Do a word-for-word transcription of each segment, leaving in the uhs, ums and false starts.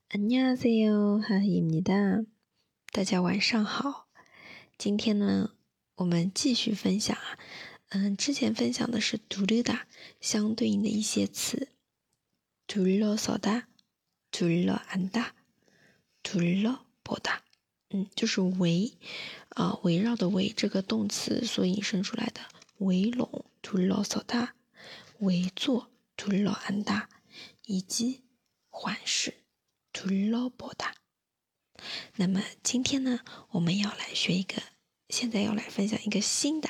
안녕하세요， 하희입니다。大家晚上好。今天呢，我们继续分享啊，嗯，之前分享的是두르다相对应的一些词，둘러서다、둘러앉다、둘러보다，嗯，就是围啊、呃，围绕的围这个动词所引申出来的围拢，둘러서다，围坐，둘러앉다，以及环视。둘러보다。那么今天呢，我们要来学一个，现在要来分享一个新的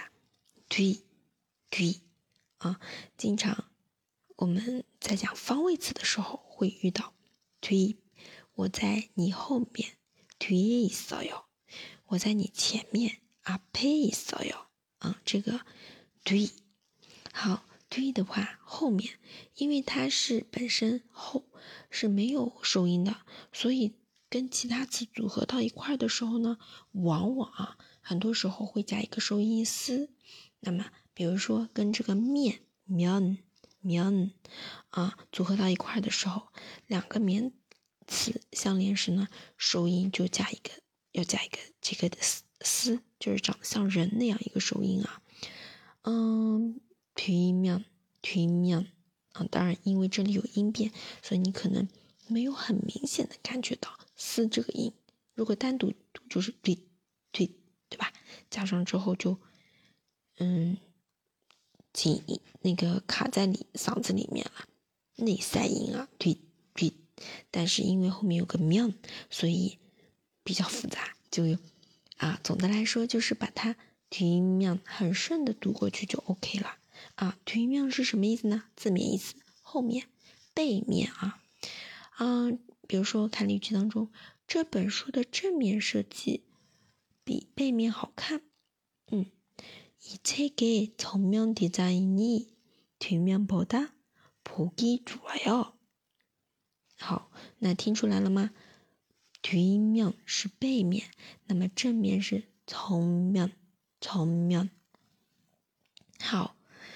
뒤 뒤啊，经常我们在讲方位词的时候会遇到뒤，我在你后面뒤에 있어요，我在你前面앞에 있어요，啊，这个뒤。好，뒤的话后面，因为它是本身后是没有收音的，所以跟其他词组合到一块的时候呢，往往啊很多时候会加一个收音丝。那么比如说跟这个面면 면啊组合到一块的时候，两个名词相连时呢，收音就加一个要加一个这个的丝，就是长得像人那样一个收音啊。嗯뒤면 뒤면啊，当然因为这里有音变，所以你可能没有很明显的感觉到嘶这个音。如果单独读就是对对对吧？加上之后就嗯紧那个卡在里嗓子里面了，内塞音啊，对对。但是因为后面有个면，所以比较复杂，就有啊。总的来说就是把它뒤면很顺的读过去就 OK 了啊。뒤면是什么意思呢？字面意思，后面、背面啊。嗯，比如说看例句当中，这本书的正面设计比背面好看。嗯，이 책의 정면 디자인이 뒷면보다 보기 좋아요。好，那听出来了吗？뒷면是背面，那么正面是정면 정면。好，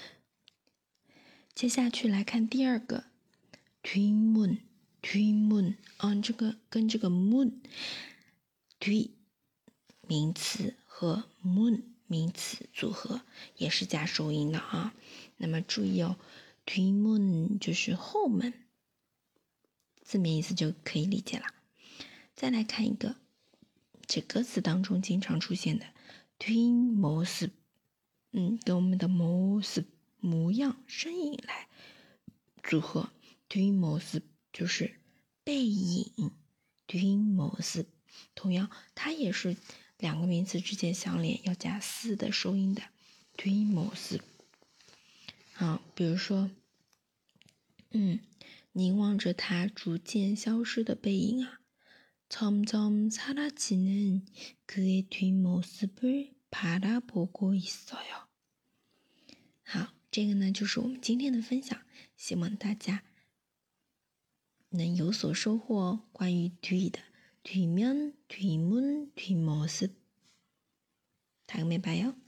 接下去来看第二个뒷문 뒷문啊，这个跟这个문 뒤名词和문名词组合也是加收音的啊。那么注意哦，뒷문就是后门，字面意思就可以理解了。再来看一个，这歌词当中经常出现的뒷모습，嗯，跟我们的모습模样、身影来组合。뒷모습就是背影，뒷모습同样它也是两个名词之间相连要加嘶的收音的뒷모습。好，比如说，嗯，凝望着它逐渐消失的背影啊，점점 사라지는 그의 뒷모습을 바라보고 있어요。好，这个呢就是我们今天的分享，希望大家能有所收获哦。关于뒤的뒷면、뒷문、뒷모습，다음에 봐요。